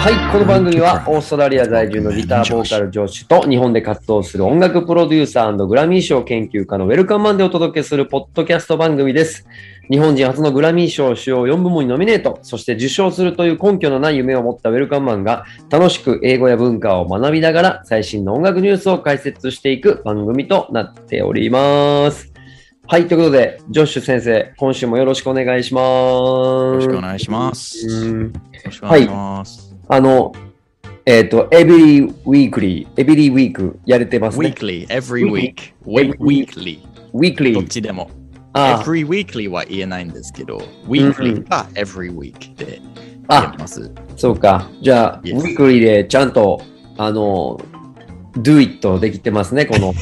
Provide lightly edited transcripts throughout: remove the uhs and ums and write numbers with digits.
はい、この番組はオーストラリア在住のギターボーカルジョッシュと日本で活動する音楽プロデューサー&グラミー賞研究家のウェルカムマンでお届けするポッドキャスト番組です。日本人初のグラミー賞主要4部門にノミネート、そして受賞するという根拠のない夢を持ったウェルカムマンが楽しく英語や文化を学びながら最新の音楽ニュースを解説していく番組となっております。はい、ということで、ジョッシュ先生、今週もよろしくお願いします。よろしくお願いします。よろしくお願いします。 はい、every week やれてますね。 weekly, every week。weekly。どっちでも。every weekly は言えないんですけど、weekly が every week で言えます。 そうか。じゃあ、weekly でちゃんと、do it できてますね、この。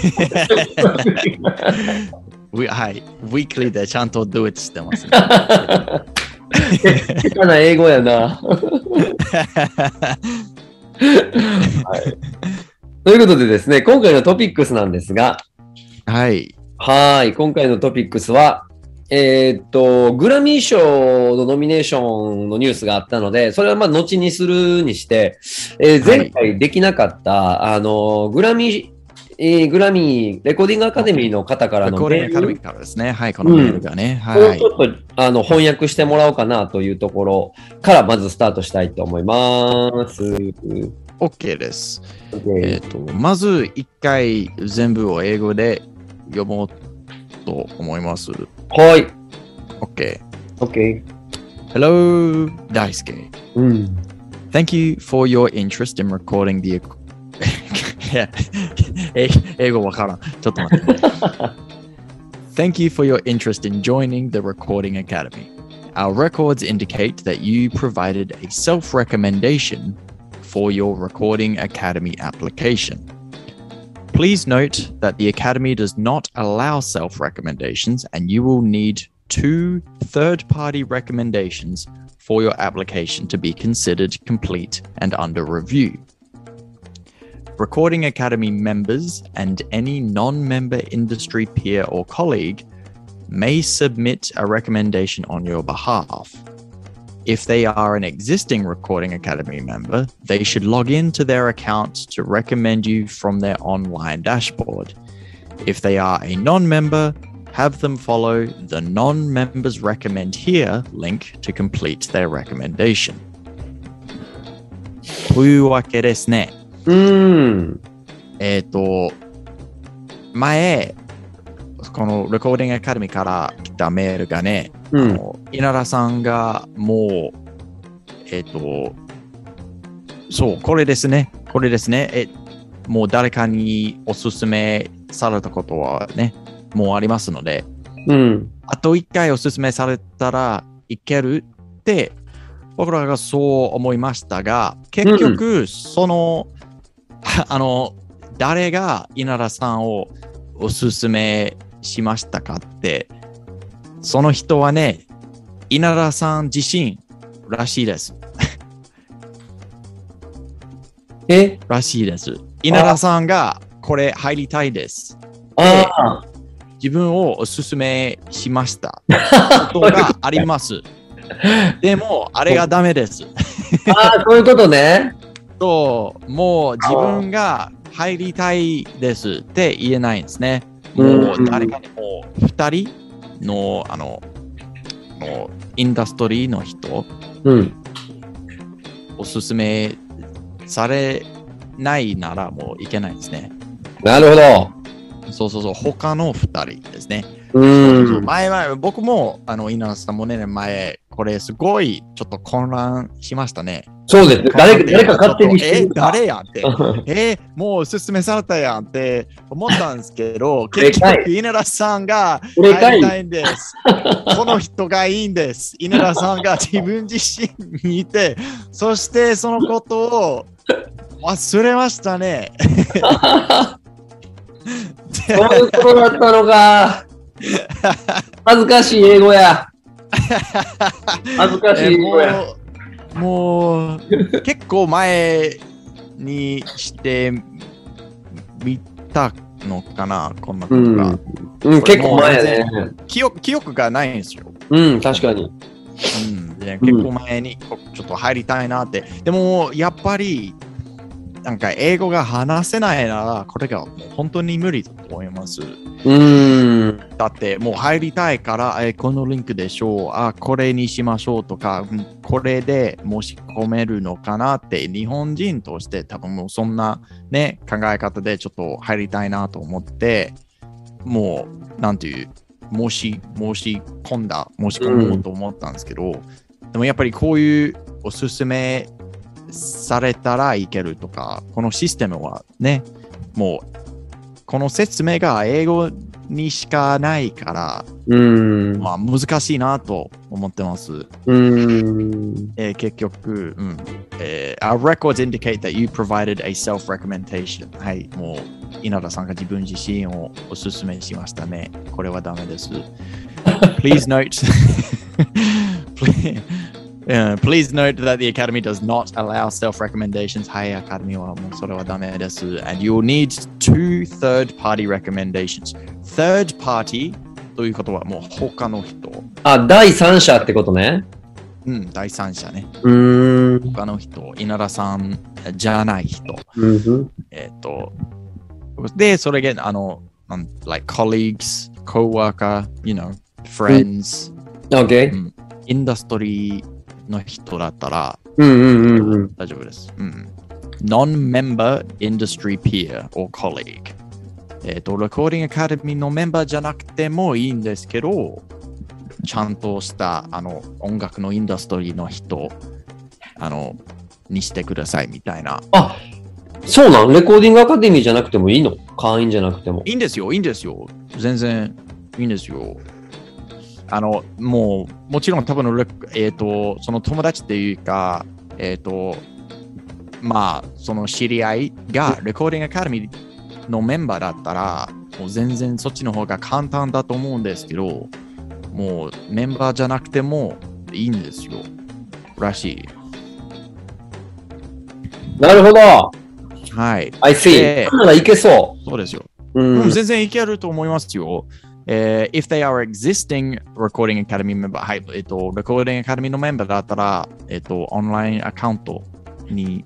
はい。weekly でちゃんと do it してますね。 下手な英語やな。はい。ということでですね、今回のトピックスなんですが、 はい。 はい。今回のトピックスは、グラミー賞のノミネーションのニュースがあったので、それはまあ後にするにして、前回できなかった、グラミーレコーディングアカデミーの方からのメール。レコーディングアカデミーからですね。はい、このメールがね。はい。ちょっと翻訳してもらおうかなというところからまずスタートしたいと思います。 OK です。まず一回全部を英語で読もうと思います。 はい。 OK。Hello, Daisuke. Thank you for your interest in recording the英語わからん。ちょっと待って。Thank you for your interest in joining the Recording Academy. Our records indicate that you provided a self-recommendation for your Recording Academy application. Please note that the Academy does not allow self-recommendations and you will need 2 third-party recommendations for your application to be considered complete and under review.Recording Academy members and any non-member industry peer or colleague may submit a recommendation on your behalf. If they are an existing Recording Academy member, they should log into their account to recommend you from their online dashboard. If they are a non-member, have them follow the non-members recommend here link to complete their recommendation. というわけですね。前、このレコーディングアカデミーから来たメールがね、稲田さんがもう、そう、これですね。もう誰かにおすすめされたことはね、もうありますので、あと1回おすすめされたらいけるって、僕らがそう思いましたが、結局、誰が稲田さんをおすすめしましたかって、その人はね、稲田さん自身らしいです。らしいです。稲田さんがこれ入りたいです。自分をおすすめしました。ことがあります。でも、あれがダメです。 そういうことね。 もう自分が入りたいですって言えないんですね。もう誰かにも2人のインダストリーの人、おすすめされないならもういけないんですね。 なるほど。 そう、他の2人ですね。前、僕も稲田さんもね、前、これすごいちょっと混乱しましたね。 そうです。誰か勝手にしてるか。 誰やんって。もうおすすめされたやんって思ったんですけど、結局、稲田さんが入りたいんです。この人がいいんです。稲田さんが自分自身にいて、そしてそのことを忘れましたね。 そういうことだったのか。恥ずかしい英語や。恥ずかしい英語や。 もう結構前にしてみたのかな、こんなことが。 結構前やね。 記憶がないんですよ。 確かに。 で、結構前にちょっと入りたいなって。でも、やっぱり、なんか英語が話せないなら、これがもう本当に無理だと思います。だってもう入りたいから、このリンクでしょう、これにしましょうとか、これで申し込めるのかなって、日本人として多分もうそんなね、考え方でちょっと入りたいなと思って、もう、なんていう、申し込もうと思ったんですけど、でもやっぱりこういうおすすめされたらいけるとか、このシステムはね、もうこの説明が英語にしかないから、まあ難しいなと思ってます。結局、Our records indicate that you provided a self-recommendation. はい、もう稲田さんが自分自身をおすすめしましたね。これはダメです。Please note that the Academy does not allow self-recommendations. はい、Academy はもうそれはダメです。And you'll need two third-party recommendations. Third party ということはもう他の人。 第三者ってことね。 第三者ね。他の人、稲田さんじゃない人。で、それがlike colleagues, co-worker, friends. Okay. インダストリーの人だったら大丈夫です。Non-member industry peer or colleague。レコーディングアカデミーのメンバーじゃなくてもいいんですけど、ちゃんとした音楽のインダストリーの人にしてくださいみたいな。 そうなん？レコーディングアカデミーじゃなくてもいいの？会員じゃなくても。 いいんですよ。全然いいんですよ。もちろん多分その友達っていうか、まあ、その知り合いがレコーディングアカデミーのメンバーだったら、もう全然そっちの方が簡単だと思うんですけど、もうメンバーじゃなくてもいいんですよ。らしい。 なるほど。 はい。 I see。いけそう。 そうですよ。全然いけると思いますよ。If they are existing Recording Academy member、はい、Recording Academy のメンバーだったら、オンラインアカウントに、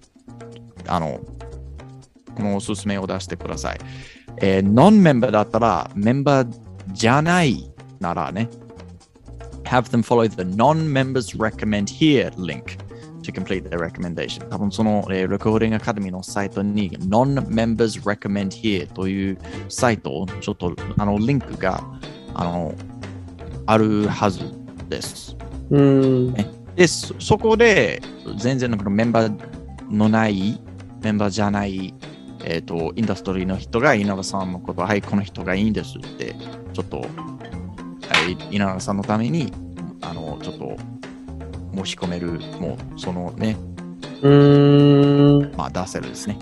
このおすすめを出してください。ノンメンバーだったら、メンバーじゃないならね、have them follow the non-members recommend here link to complete their recommendation。多分その、Recording Academy のサイトに non-members recommend here というサイト、ちょっとリンクがあるはずです。で、そこで全然メンバーのないメンバーじゃない、インダストリーの人が稲田さんのこと、はい、この人がいいんですって、ちょっと、稲田さんのために、ちょっと申し込める、もう、そのね、まあ、出せるですね。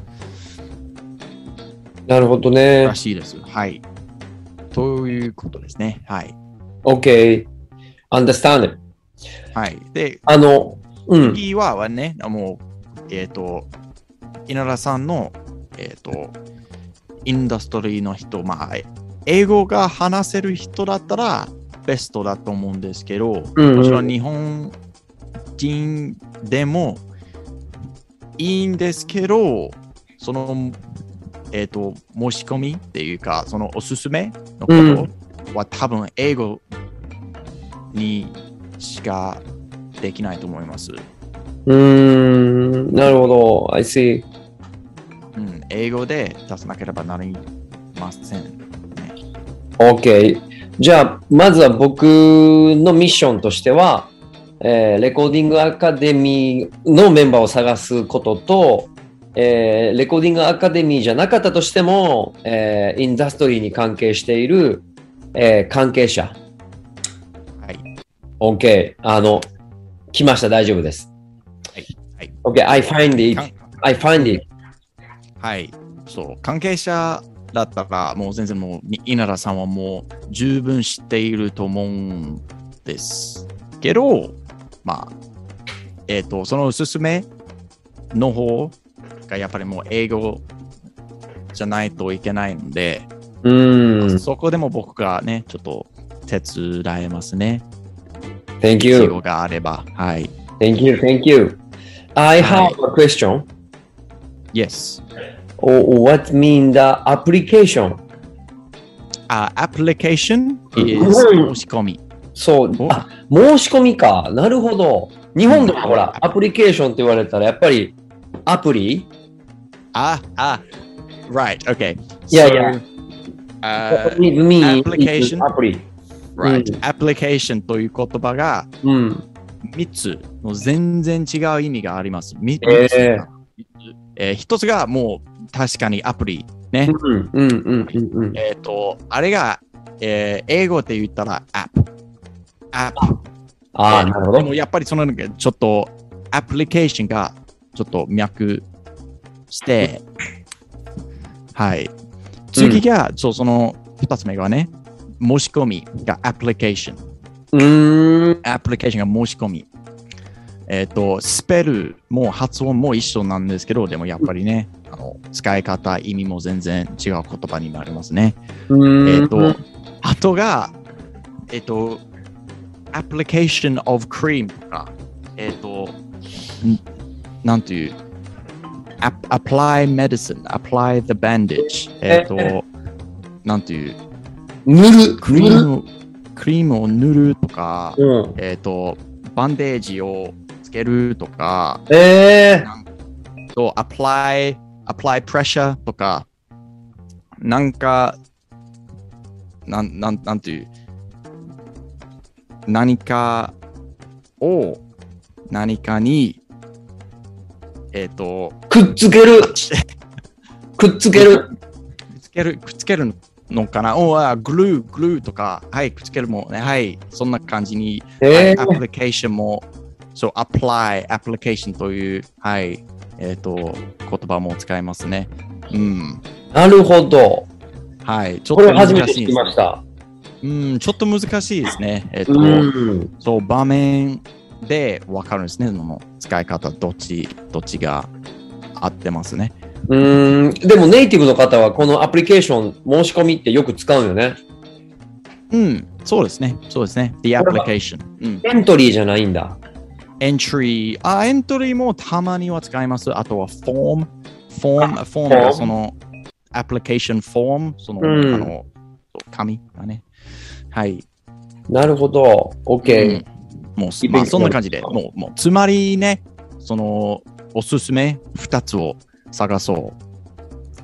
なるほどね。 らしいです。はい。ということですね。はい。 OK。understand。 はい。で、次はね、もう、稲田さんの、インダストリーの人、まあ、英語が話せる人だったらベストだと思うんですけど、もちろん日本人でもいいんですけど、その、申し込みっていうか、そのおすすめのことは多分英語にしかできないと思います。 なるほど。I see。 英語で出さなければなりません、ね。 OK。じゃあ、まずは僕のミッションとしては、レコーディングアカデミーのメンバーを探すことと、レコーディングアカデミーじゃなかったとしても、インダストリーに関係している、関係者。 はい。 OK。来ました。大丈夫です。 はい。はい、 OK。I find it. はい。そう。関係者だったら、もう全然もう、稲田さんはもう十分知っていると思うんですけど、まあ、そのおすすめの方がやっぱりもう英語じゃないといけないので、そこでも僕がね、ちょっと手伝えますね。 Thank 英 you. 語があれば。はい。 Thank you. Thank you. I have a question. Yes. What mean the application? Application is 申し込み。 そう。申し込みか。なるほど。日本でもほら、アプリケーションって言われたら、やっぱりアプリ Right. Okay. いやいや。 application. アプリ。 Right. Application という言葉が3つの全然違う意味があります。3つ。1つがもう確かにアプリ。ね。あれが、英語で言ったら app。 なるほど。 でもやっぱりそのちょっとアプリケーションがちょっと脈して、はい。次が、その2つ目がね、申し込みがアプリケーション。アプリケーションが申し込み。スペルも発音も一緒なんですけど、でもやっぱりね、使い方、意味も全然違う言葉になりますね。あとが、application of cream とか、なんという、apply medicine, apply the bandage、なんという、クリームを塗るとか、バンデージをつけるとか、apply pressure とか、なんていう、何かを何かに、 くっつけるくっつけるのかなグルーとか、はい、くっつけるもね、はい、そんな感じに、アプリケーションも、そう、apply、アプリケーションという、はい、言葉も使いますね。 なるほど。 はい、ちょっと難しいです。これ初めて聞きました。 ちょっと難しいですね。そう、場面で分かるんですね。その使い方、どっちが合ってますね。 でもネイティブの方はこのアプリケーション申し込みってよく使うよね。 そうですね。The application。 エントリーじゃないんだ。 エントリーもたまには使います。あとはフォームがそのアプリケーションフォーム、その、紙がね。はい。 なるほど。OK。 もう、まあ、そんな感じで、もう、つまりね、その、おすすめ2つを探そう。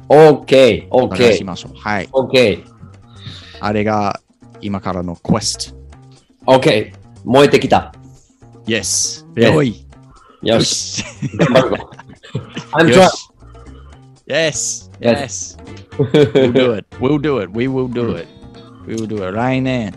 OK。 探しましょう。はい。 OK。 あれが今からのクエスト。OK。燃えてきた。 Yes。よい。 よし。頑張るぞ。I'm trying. Yes. We'll do it. We will do it. 来年。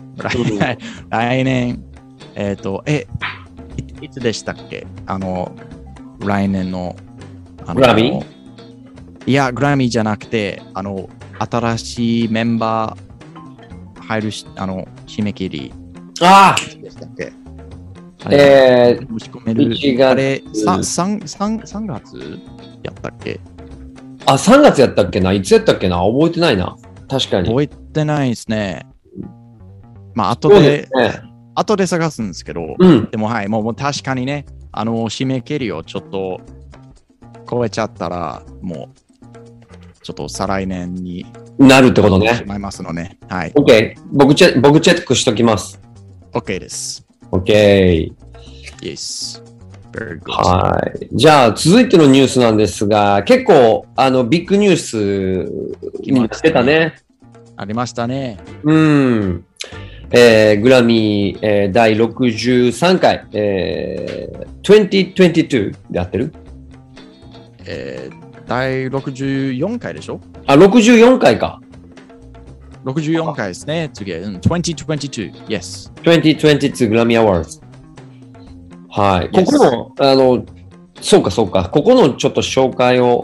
いつでしたっけ来年の。 グラミー？ いや、グラミーじゃなくて、新しいメンバー入る締め切り。でしたっけ申し込める。あれ、3月やったっけ 3月やったっけないつやったっけな覚えてないな。確かに。 覚えてないですね。まあ、後で探すんですけど、でもはい、もう確かにね、締め切りをちょっと超えちゃったら、もう、ちょっと再来年になるってことね。 しまいますのね。はい。 OK。僕チェックしときます。 OK です。 OK。 Yes。Very good。 はい。じゃあ、続いてのニュースなんですが、結構、ビッグニュースになってたね。 ありましたね。 グラミー、第63回、2022で合ってる？ 第64回でしょ ？64回か。 64回ですね。次は、2022。Yes。 2022グラミーアワーズ。はい。ここの、そうか。ここのちょっと紹介を。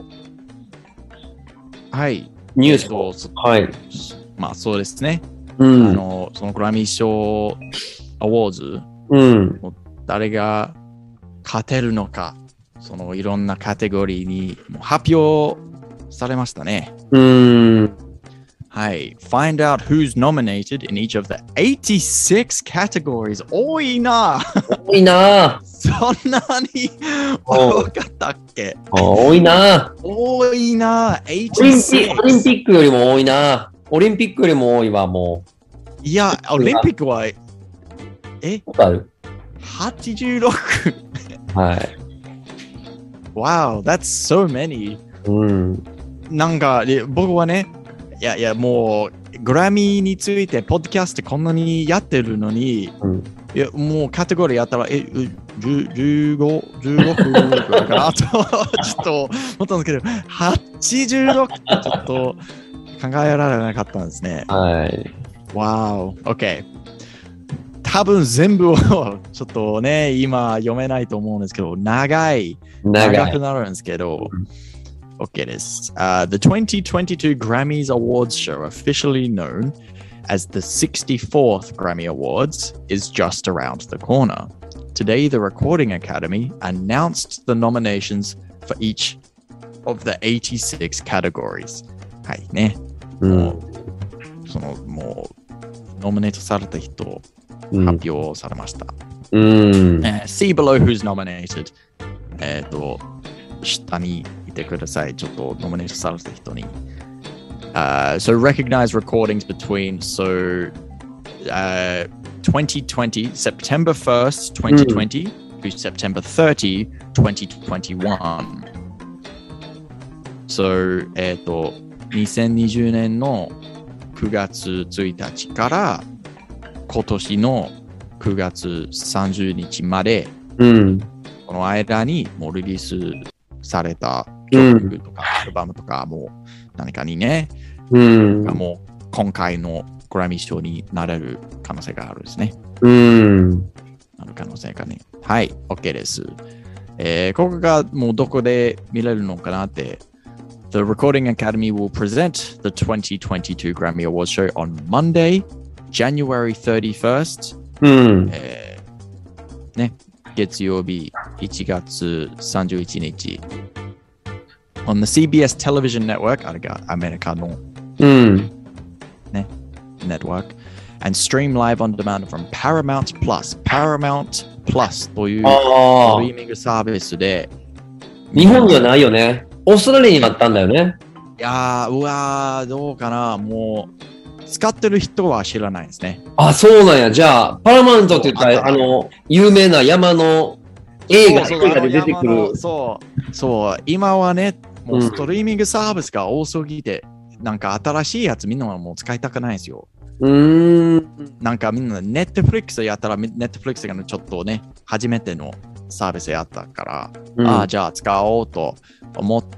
はい。 ニュースを。はい。 まあ、そうですね。そのグラミー賞アワーズ、誰が勝てるのか、そのいろんなカテゴリーに発表されましたね。 はい。Find out who's nominated in each of the 86 categories.多いな。 多いな。 そんなに多かったっけ？ 多いな。 多いな。 オリンピックよりも多いな。オリンピックよりも多いわ、もう。いや、オリンピックは、 ある 86。 はい。 Wow, that's so many. うん。 なんか、僕はね、いや、もう、グラミーについて、ポッドキャストこんなにやってるのに、いや、もうカテゴリーやったら、15分ぐらいかなと、ちょっと思ったんですけど、86ってちょっと考えられなかったんですね。 はい。 Wow, OK。多分全部をちょっとね、今読めないと思うんですけど、長くなるんですけど、OK です。The 2022 Grammys Awards show, officially known as the 64th Grammy Awards, is just around the corner. Today, the Recording Academy announced the nominations for each of the 86 categories. はいね。もう、ノミネートされた人、発表されました。See below who's nominated. 下にいてください。ちょっとノミネートされた人に。So recognize recordings between 2020, September 1st, 2020 to September 30, 2021. So, 2020年の9月1日から今年の9月30日まで、この間にもうリリースされた曲とかアルバムとかも何かにね、もう今回のグラミー賞になれる可能性があるですね。なる可能性がね。はい、OK です。ここがもうどこで見れるのかなって。The Recording Academy will present the 2022 Grammy Awards show on Monday, January 31st. ね、月曜日1月31日。On the CBS Television Network, あれがアメリカの、ね、network, and stream live on demand from Paramount Plus。Paramount Plus というストリーミングサービスで。 日本にはないよね。オーストラリアにもあったんだよね。 いやー、どうかな。もう、使ってる人は知らないですね。 あ、そうなんや。じゃあ、パラマウントって言ったら、有名な山の映画で出てくる。 そう、今はね、もうストリーミングサービスが多すぎて、なんか新しいやつみんなもう使いたくないですよ。なんかみんなネットフリックスやったら、ネットフリックスがちょっとね、初めてのサービスやったから、じゃあ使おうと思って、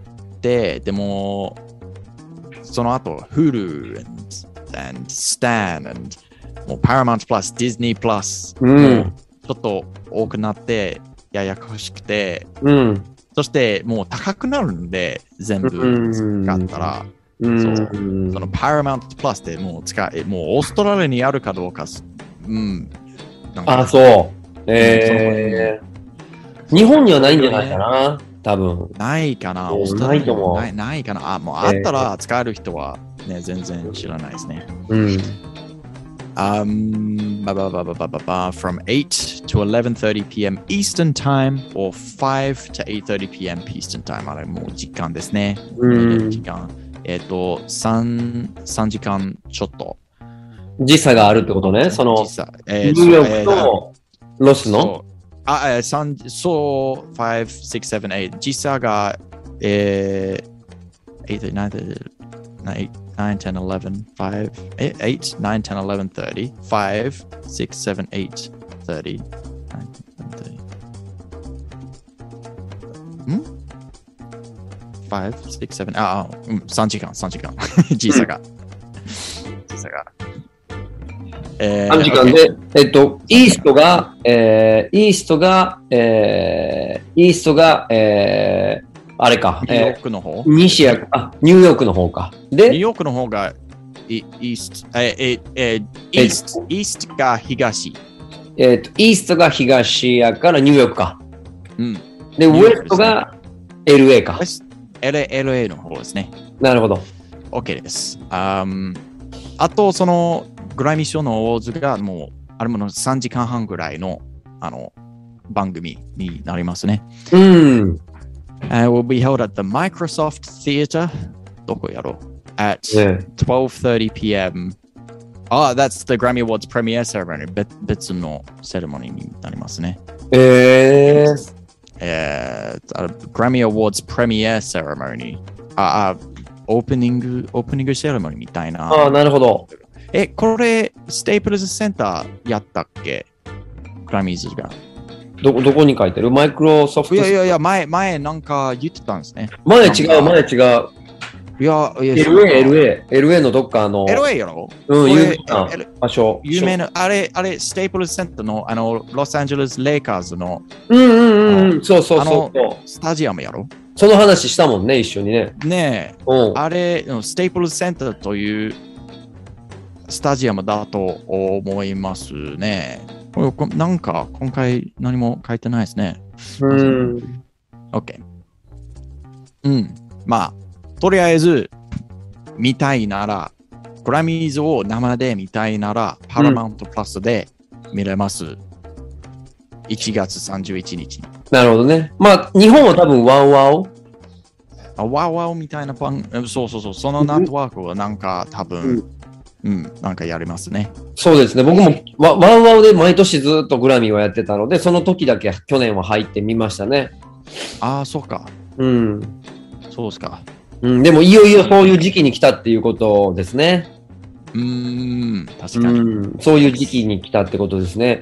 でも、その後、Hulu and Stan and もう Paramount Plus, Disney Plus、もうちょっと多くなって、ややこしくて、そしてもう高くなるんで、全部使ったら、その Paramount Plus でもうもうオーストラリアにあるかどうか、 あ、そう。日本にはないんじゃないかな、多分。 ないかな、オーストラリアにはないかな。もうあったら使える人はね、全然知らないですね。From 8 to 11:30 p.m. Eastern Time or 5 to 8:30 p.m. Eastern Time。あれもう時間ですね。時間。3時間ちょっと。 時差があるってことね。その、ニューヨークとロスのそう、5、6、7、8。時差が、8、9、10、11、5、8、9、10、11、30、5、6、7、8、30、5、6、7、3時間。時差が。 3時間で、イーストが、あれか。 ニューヨークの方ニューヨークの方か。で、 ニューヨークの方がイーストが東。 イーストが東やからニューヨークか。で、ウエストが LA か。 LA の方ですね。 なるほど。 OK です。 あと、そのグラミー賞のアワーズがもう、あれもの3時間半ぐらいの番組になりますね。 うん。 will be held at the Microsoft Theater. どこやろう at 12:30 p.m. That's the Grammy Awards premiere ceremony. 別のセレモニーになりますね。Grammy Awards premiere ceremony. オープニングセレモニーみたいな。 なるほど。 これ、ステープルズセンターやったっけグラミーズが。 どこに書いてるマイクロソフト。 いや、前なんか言ってたんですね。 前違う。 いや、 LA のどっか LA やろ有名な場所。 有名な、あれ、ステープルズセンターの、ロサンゼルス・レイカーズの、 そう。 スタジアムやろその話したもんね、一緒にね。 ねえ、あれ、ステープルズセンターというスタジアムだと思いますね。なんか、今回何も書いてないですね。OK。まあ、とりあえず、見たいなら、グラミーズを生で見たいなら、パラマウントプラスで見れます。1月31日に。 なるほどね。まあ、日本は多分ワウワウ。 ワウワウみたいなそう。そのネットワークはなんか多分、なんかやりますね。そうですね。 僕もワウワウで毎年ずっとグラミーをやってたので、その時だけ去年は入ってみましたね。 そうか。そうですか。 でもいよいよそういう時期に来たっていうことですね。 確かに。 そういう時期に来たってことですね。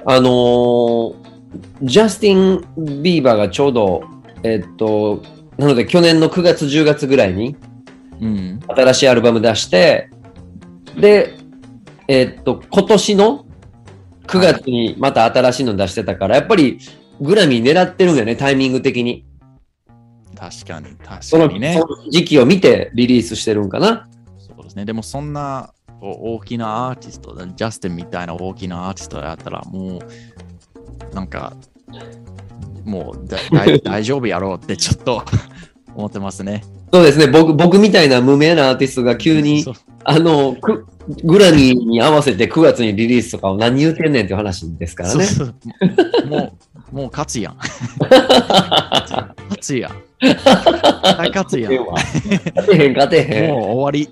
ジャスティン・ビーバーがちょうど、なので去年の9月10月ぐらいに、新しいアルバム出して、で、今年の9月にまた新しいの出してたから、やっぱりグラミー狙ってるんだよね、タイミング的に。 確かにね。 その時期を見てリリースしてるんかな。 そうですね。でもそんな大きなアーティスト、ジャスティンみたいな大きなアーティストやったら、もう、なんか、もう大丈夫やろうってちょっと思ってますね。 そうですね。僕みたいな無名なアーティストが急に、グラミーに合わせて9月にリリースとかを何言うてんねんっていう話ですからね。 もう勝つやん。勝つやん。勝つやん。 勝てへん。 もう終わり。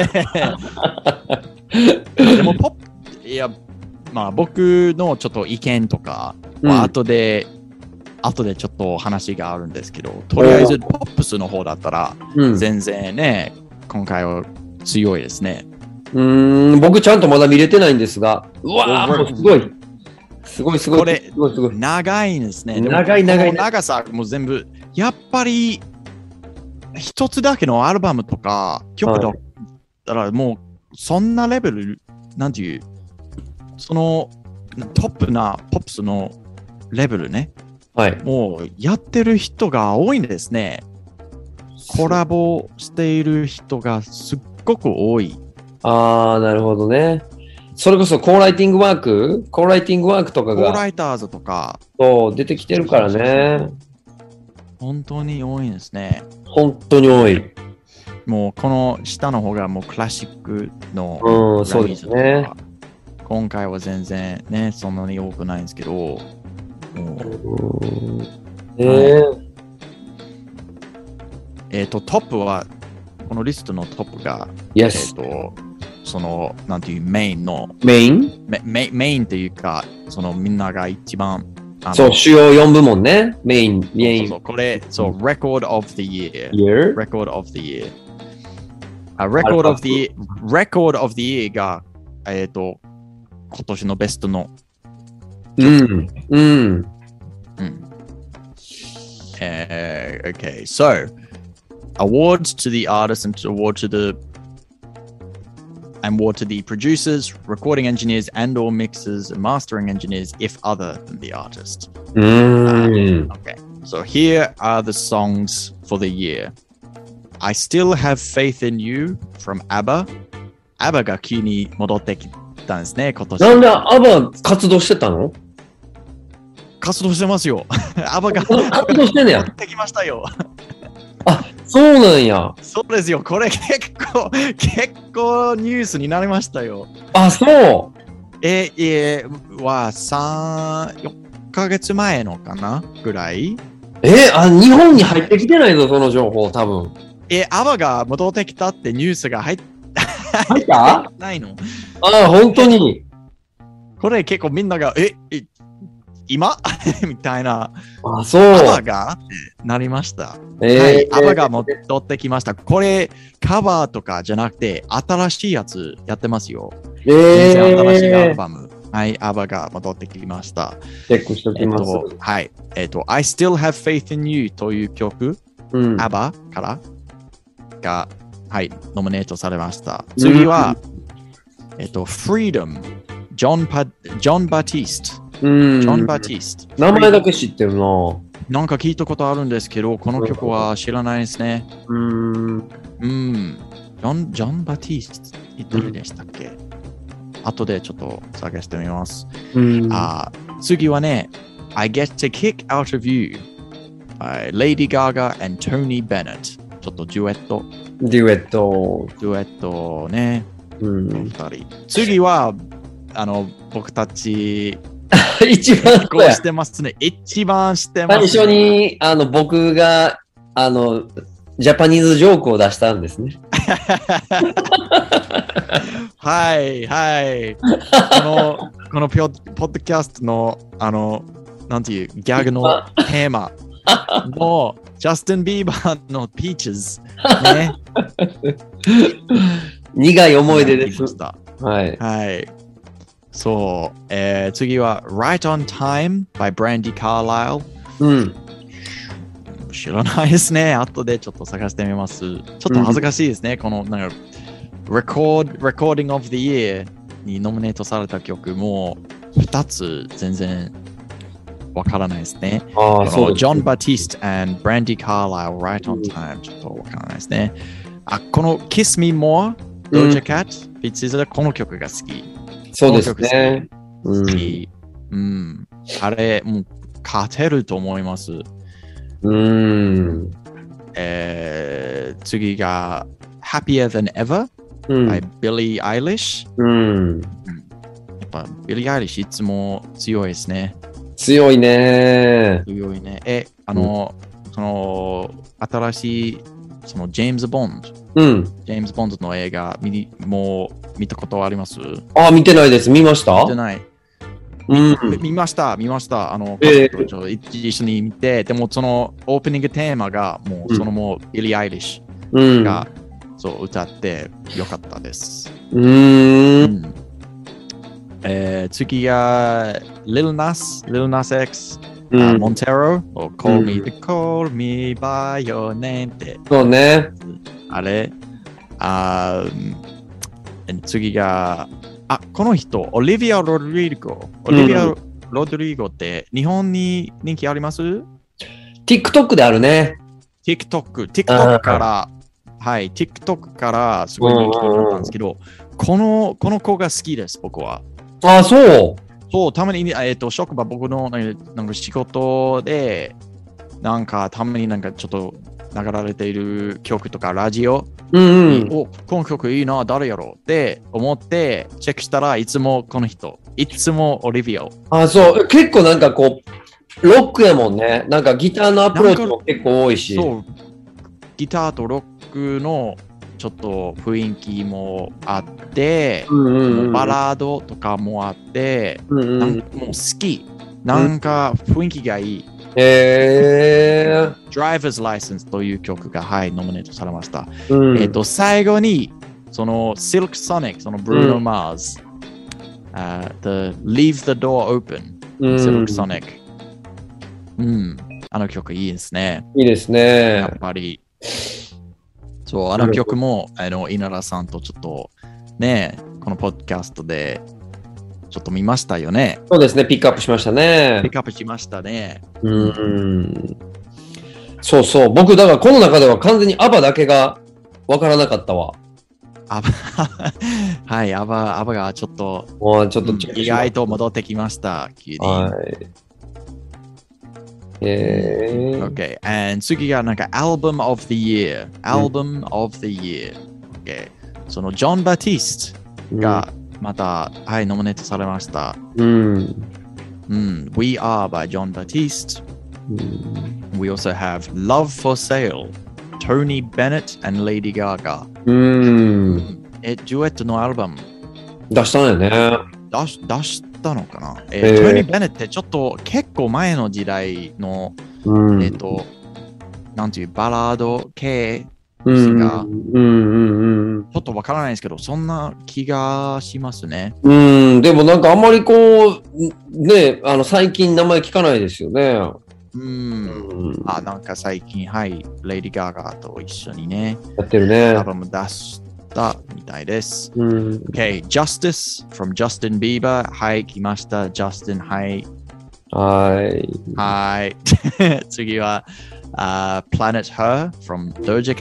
でもまあ僕のちょっと意見とかは後でちょっと話があるんですけど、とりあえずポップスの方だったら全然ね、今回は強いですね。 僕ちゃんとまだ見れてないんですが、うわー、すごい。 これ、長いんですね。 長い。 長さも全部、やっぱり、一つだけのアルバムとか、曲だったら、もう、そんなレベル、なんていう、その、トップなポップスのレベルね。もう、やってる人が多いんですね。コラボしている人がすっごく多い。 なるほどね。それこそコーライティングワークとかが。 コーライターズとか。 そう、出てきてるからね。 本当に多いんですね。 本当に多い。 もうこの下の方がもうクラシックのそうですね。 今回は全然ね、そんなに多くないんですけど。トップは、このリストのトップが、その、なんていう、メインメインというか、そのみんなが一番、 そう、主要4部門ね。メイン。 これ、そう、Record of the Year。Record of the Year。Record of the Year が、今年のベストの。Okay, so awards to the artists and award to the producers, recording engineers, and/or mixers, and mastering engineers, if other than the artist. Okay, so here are the songs for the year. I Still Have Faith in You from ABBA. ABBA が急に戻ってきたんですね、今年。 なんで ABBA 活動してたの？ 活動してますよ。ABBA が活動してんねや。 戻ってきましたよ。 そうなんや。 そうですよ。これ結構ニュースになりましたよ。 あ、そう。 は4ヶ月前のかなぐらい。 日本に入ってきてないぞ、その情報、多分。 アバが戻ってきたってニュースが入ったないの？ 本当に。 これ結構みんなが、今みたいな。 そう。 アバがなりました。はい、アバが戻ってきました。これ、カバーとかじゃなくて、新しいやつやってますよ。全然新しいアルバム。はい、アバが戻ってきました。 チェックしておきます。 はい。I Still Have Faith in You という曲、アバからが、はい、ノミネートされました。次は、Freedom、ジョン・バティスト。ジョン・バティスト。 名前だけ知ってるな。 なんか聞いたことあるんですけど、この曲は知らないですね。ジョン・バティスト、誰でしたっけ？後でちょっと探してみます。次はね、I Get to Kick Out of You、Lady Gaga and Tony Bennett。ちょっとデュエットね。次は、僕たち、 一番こうしてますね。一番してます、ね。 最初に、僕が、ジャパニーズジョークを出したんですね。 はい、はい。このポッドキャストの、なんていう、ギャグのテーマの、ジャスティン・ビーバーの Peaches ね。 苦い思い出です。 はい。はい。そう、次は Right on Time by Brandy Carlisle。知らないですね。後でちょっと探してみます。ちょっと恥ずかしいですね。このなんかRecording of the Year にノミネートされた曲も2つ全然わからないですね。ジョン・バティスト and Brandy Carlisle Right on Time ちょっとわからないですね。この Kiss Me More Doja Cat、この曲が好き。 そうですね。 好き。あれ、もう勝てると思います。次が Happier Than Ever by Billie Eilish。やっぱ Billie Eilish いつも強いですね。 強いね。 その新しいそのジェームズ・ボンド。ジェームズ・ボンドの映画もう見たことはあります？ 見てないです。見ました？ 見てない。見ました。家族と一緒に見て、でもそのオープニングテーマがもうそのもうビリー・アイリッシュがそう歌ってよかったです。次が Lil Nas X、Montero Call Me By Your Name って。 そうね。 あれ次がこの人、オリビア・ロドリゴ。オリビア・ロドリゴって日本に人気あります？ TikTok であるね。 TikTok から、はい、TikTok からすごい人気になったんですけど、この子が好きです、僕は。そう、たまに、職場、僕のなんか仕事で、なんかたまになんかちょっと流れている曲とかラジオ、この曲いいな、誰やろうって思ってチェックしたらいつもこの人、いつもオリビア。 そう、結構なんかこうロックやもんね。なんかギターのアプローチも結構多いし。 そう、ギターとロックのちょっと雰囲気もあって、バラードとかもあって、もう好き。なんか雰囲気がいい。Driver's License という曲が、はい、ノミネートされました。最後に、その Silk Sonic、その Bruno Mars、The Leave the Door Open、Silk Sonic。あの曲いいですね。 いいですね。 やっぱり。そう、あの曲も、稲田さんとちょっと、ね、このポッドキャストで、ちょっと見ましたよね。 そうですね、ピックアップしましたね。そうそう、僕だからこの中では完全にアバだけがわからなかったわ。 はい、アバがちょっと意外と戻ってきました。 はい。 Okay. And 次がなんか Album of the Year。Album of the Year。Okay。そのジョン・バティストがまた、はい、ノミネートされました。We Are by John Batiste。We also have Love for Sale。Tony Bennett and Lady Gaga。デュエットのアルバム出したんよね。 出したのかな、Tony Bennett ってちょっと結構前の時代の、なんていうバラード系シンガー、ちょっとわからないですけど、そんな気がしますね。 でもなんかあんまりこう、ね、最近名前聞かないですよね。 なんか最近、はい、レイディ・ガガと一緒にね、 やってるね。 アルバム出したみたいです。Okay, Justice from Justin Bieber。はい、来ました。Justin、はい。はい。次は、Planet Her from Doja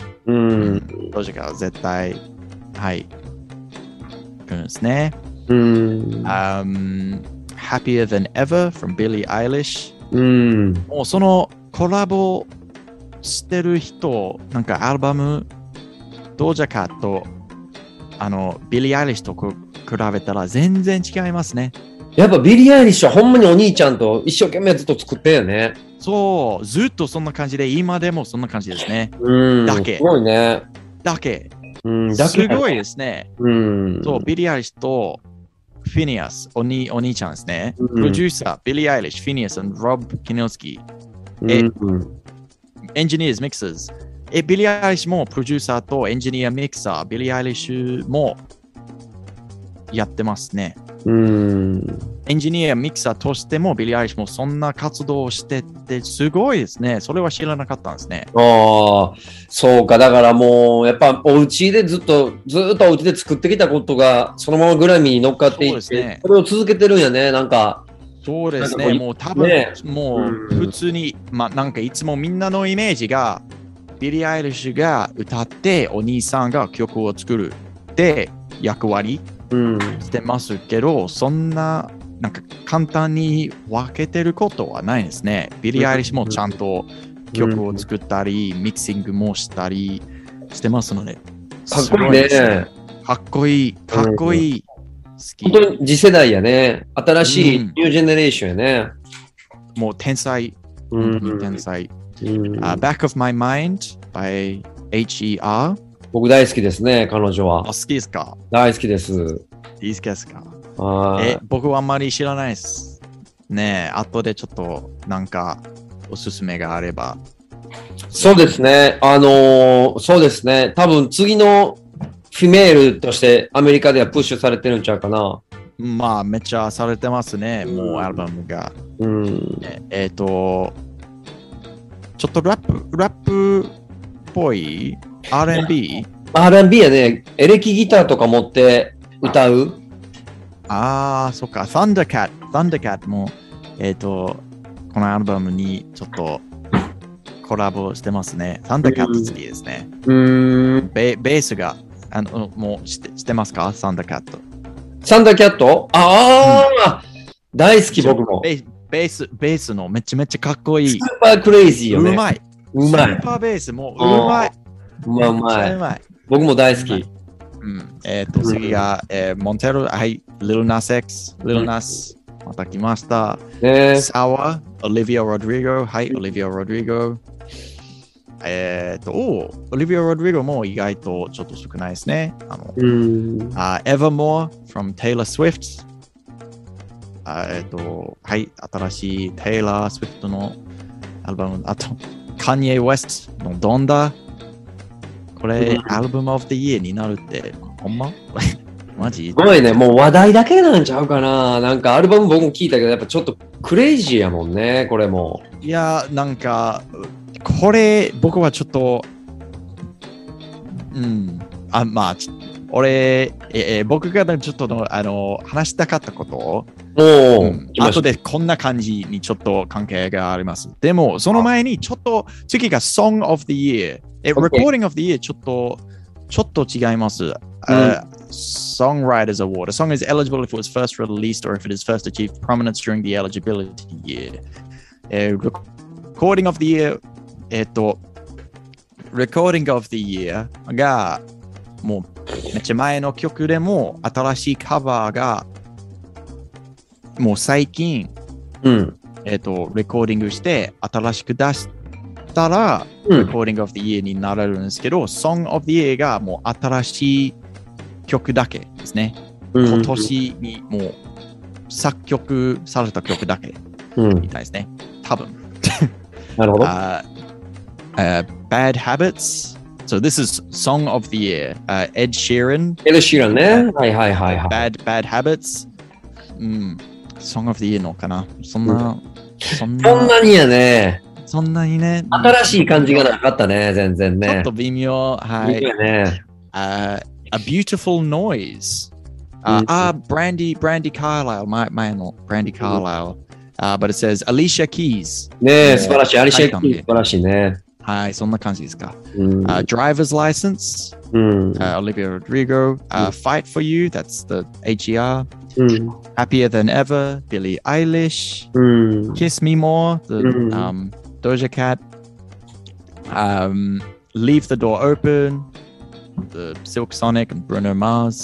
Cat。Doja Cat は絶対、はい、来るんですね。Happier Than Ever from Billie Eilish。もうそのコラボしてる人、なんかアルバム、ドージャカット、ビリー・アイリッシュと比べたら全然違いますね。 やっぱビリー・アイリッシュはほんまにお兄ちゃんと一生懸命ずっと作ってんよね。 そう、ずっとそんな感じで、今でもそんな感じですね。だけ。 すごいね。 だけ。すごいですね。そう、ビリー・アイリッシュとフィニアス、お兄ちゃんですね。プロデューサー、ビリー・アイリッシュ、フィニアス、ロブ・キノスキー。エンジニアーズ、ミクサーズ。ビリー・アイリッシュもプロデューサーとエンジニア、ミクサー、ビリー・アイリッシュもやってますね。エンジニア、ミキサーとしてもビリー・アイリッシュもそんな活動をしててすごいですね。それは知らなかったんですね。 そうか。だからもうやっぱお家でずっとお家で作ってきたことがそのままグラミーに乗っかっていって、それを続けてるんやね。なんかそうですね。もう多分、もう普通に、なんかいつもみんなのイメージがビリー・アイリッシュが歌ってお兄さんが曲を作るって役割してますけど、そんななんか簡単に分けてることはないですね。ビリー・アイリッシュもちゃんと曲を作ったり、ミキシングもしたりしてますので。 かっこいいね。 かっこいい。かっこいい。好き。 本当に次世代やね。新しいニュージェネレーションやね。 もう天才。本当に天才。Back of My Mind by H.E.R. 僕大好きですね、彼女は。 好きですか？ 大好きです。 いいですか？僕はあんまり知らないです。ねえ、後でちょっとなんかおすすめがあれば。 そうですね。そうですね。多分次のフィメールとしてアメリカではプッシュされてるんちゃうかな。 めっちゃされてますね。もうアルバムが。ちょっとラップっぽい R&B やね。エレキギターとか持って歌う。 そっか。Thundercat も、このアルバムにちょっとコラボしてますね。Thundercat 好きですね。ベースが、もう知ってますか？ Thundercat。 Thundercat？ 大好き僕も。 ベースのめちゃめちゃかっこいい。 スーパークレイジーよね。 うまい。スーパーベースもうまい。 うまい。僕も大好き。 次が、モンテロ、はい、Lil Nas X、Lil Nas、また来ました。Sour、Olivia Rodrigo、はい、Olivia Rodrigo。Olivia Rodrigo も意外とちょっと少ないですね。Evermore from Taylor Swift。はい、新しい Taylor Swift のアルバム。あと、Kanye West の Donda。これ、アルバムオブ the year になるって、ほんまマジ？ すごいね、もう話題だけなんちゃうかな。なんかアルバム僕も聞いたけど、やっぱちょっとクレイジーやもんね、これも。 いや、なんか、これ、僕はちょっと、僕がちょっと話したかったことを、後でこんな感じにちょっと関係があります。でも、その前にちょっと、次が Song of the Year。Recording of the Year ちょっと違います。Songwriters Award. A song is eligible if it was first released or if it is first achieved prominence during the eligibility year. Recording of the Year、Recording of the Year が、もうめっちゃ前の曲でも、新しいカバーが、もう最近、レコーディングして、新しく出したら、Recording of the Year になれるんですけど、Song of the Year がもう新しい曲だけですね。今年にもう作曲された曲だけみたいですね。多分。 なるほど。 Bad Habits. So this is Song of the Year. Ed Sheeran. Ed Sheeran ね。はいはいはいはい。 Bad Habits. Song of the Year のかな。そんなにやね。 そんなにね。 新しい感じがなかったね、全然ね。 ちょっと微妙。はい。 微妙ね。 A Beautiful Noise. Brandy Carlisle. 前の Brandy Carlisle. But it says Alicia Keys. ねえ、素晴らしい。アリシャ・キー素晴らしいね。 はい、そんな感じですか。Driver's License. Olivia Rodrigo. Fight for You. That's the HER. Happier Than Ever. Billie Eilish. Kiss Me More. The Doja Cat. Leave the Door Open. The Silk Sonic and Bruno Mars.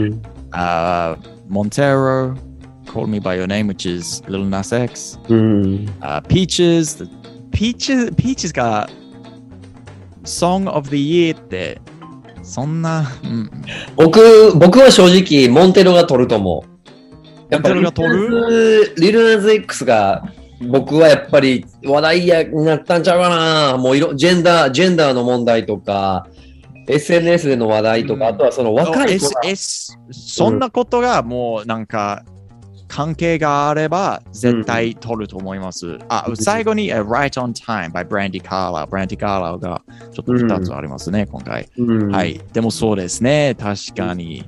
Montero. Call Me By Your Name, which is Lil Nas X. Peaches. Peaches が Song of the Year ってそんな、 僕は正直モンテロが取ると思う。やっぱりリルナズ X が僕はやっぱり話題になったんちゃうかな。もうジェンダーの問題とか SNS での話題とか、あとはその若い子が、 そんなことがもうなんか関係があれば絶対取ると思います。最後に、Right on Time by Brandy Carlisle。Brandy Carlisle がちょっと2つありますね、今回。はい。でもそうですね、確かに。